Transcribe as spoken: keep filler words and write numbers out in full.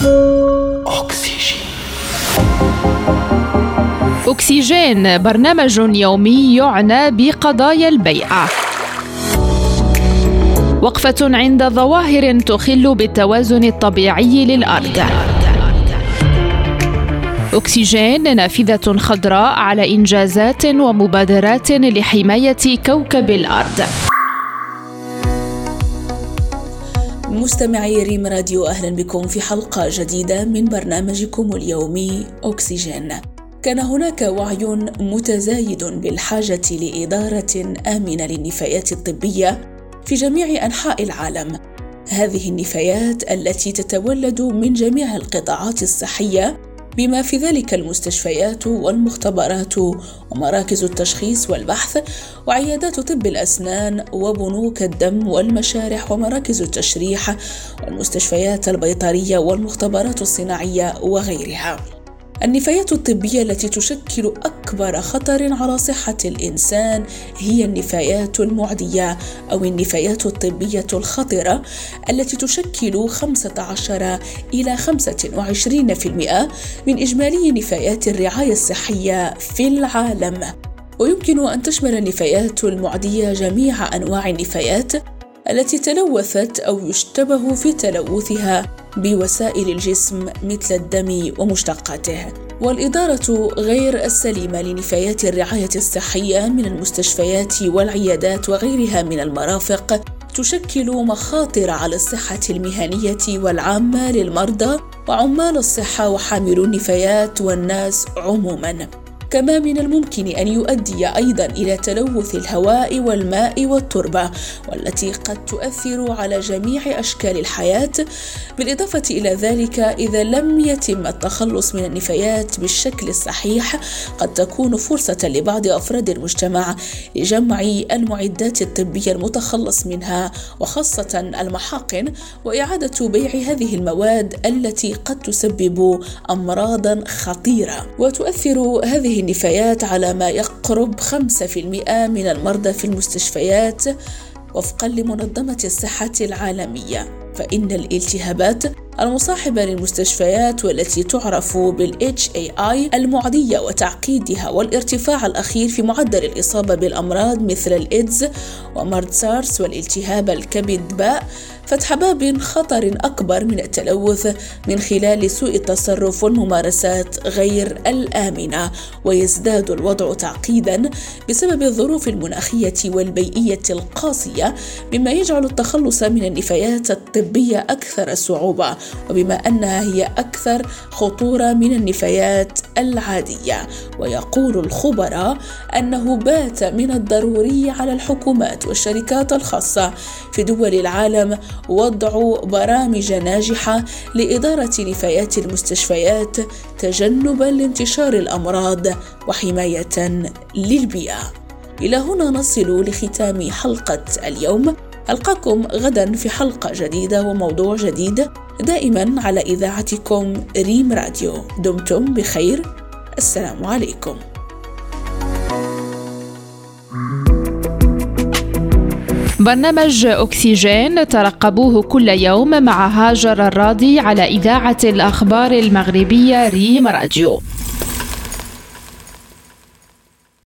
أكسجين. أكسجين برنامج يومي يعنى بقضايا البيئة. وقفة عند ظواهر تخل بالتوازن الطبيعي للأرض. أكسجين نافذة خضراء على إنجازات ومبادرات لحماية كوكب الأرض. مستمعي ريم راديو، أهلا بكم في حلقة جديدة من برنامجكم اليومي أكسجين. كان هناك وعي متزايد بالحاجة لإدارة آمنة للنفايات الطبية في جميع أنحاء العالم. هذه النفايات التي تتولد من جميع القطاعات الصحية بما في ذلك المستشفيات والمختبرات ومراكز التشخيص والبحث وعيادات طب الأسنان وبنوك الدم والمشارح ومراكز التشريح والمستشفيات البيطرية والمختبرات الصناعية وغيرها. النفايات الطبية التي تشكل أكبر خطر على صحة الإنسان هي النفايات المعدية أو النفايات الطبية الخطرة، التي تشكل خمسة عشر إلى خمسة وعشرين بالمئة من إجمالي نفايات الرعاية الصحية في العالم. ويمكن أن تشمل النفايات المعدية جميع أنواع النفايات التي تلوثت أو يشتبه في تلوثها بوسائل الجسم مثل الدم ومشتقاته. والإدارة غير السليمة لنفايات الرعاية الصحية من المستشفيات والعيادات وغيرها من المرافق تشكل مخاطر على الصحة المهنية والعامة للمرضى وعمال الصحة وحاملو النفايات والناس عموماً. كما من الممكن أن يؤدي أيضاً إلى تلوث الهواء والماء والتربة، والتي قد تؤثر على جميع أشكال الحياة. بالإضافة إلى ذلك، إذا لم يتم التخلص من النفايات بالشكل الصحيح، قد تكون فرصة لبعض أفراد المجتمع لجمع المعدات الطبية المتخلص منها، وخاصة المحاقن، وإعادة بيع هذه المواد التي قد تسبب أمراضاً خطيرة. وتؤثر هذه النفايات على ما يقرب خمسة بالمئة من المرضى في المستشفيات وفقا لمنظمة الصحة العالمية. فإن الالتهابات المصاحبة للمستشفيات والتي تعرف بال إتش إيه آي المعدية وتعقيدها والارتفاع الأخير في معدل الإصابة بالأمراض مثل الإيدز ومرض سارس والالتهاب الكبد باء فتح باب خطر أكبر من التلوث من خلال سوء التصرف والممارسات غير الآمنة. ويزداد الوضع تعقيدا بسبب الظروف المناخية والبيئية القاسية، مما يجعل التخلص من النفايات الطبية أكثر صعوبة، وبما أنها هي أكثر خطورة من النفايات العادية. ويقول الخبراء أنه بات من الضروري على الحكومات والشركات الخاصة في دول العالم وضع برامج ناجحة لإدارة نفايات المستشفيات تجنباً لانتشار الأمراض وحماية للبيئة. إلى هنا نصل لختام حلقة اليوم. ألقاكم غداً في حلقة جديدة وموضوع جديد، دائماً على إذاعتكم ريم راديو. دمتم بخير. السلام عليكم. برنامج أكسجين ترقبوه كل يوم مع هاجر الراضي على إذاعة الأخبار المغربية ريم راديو.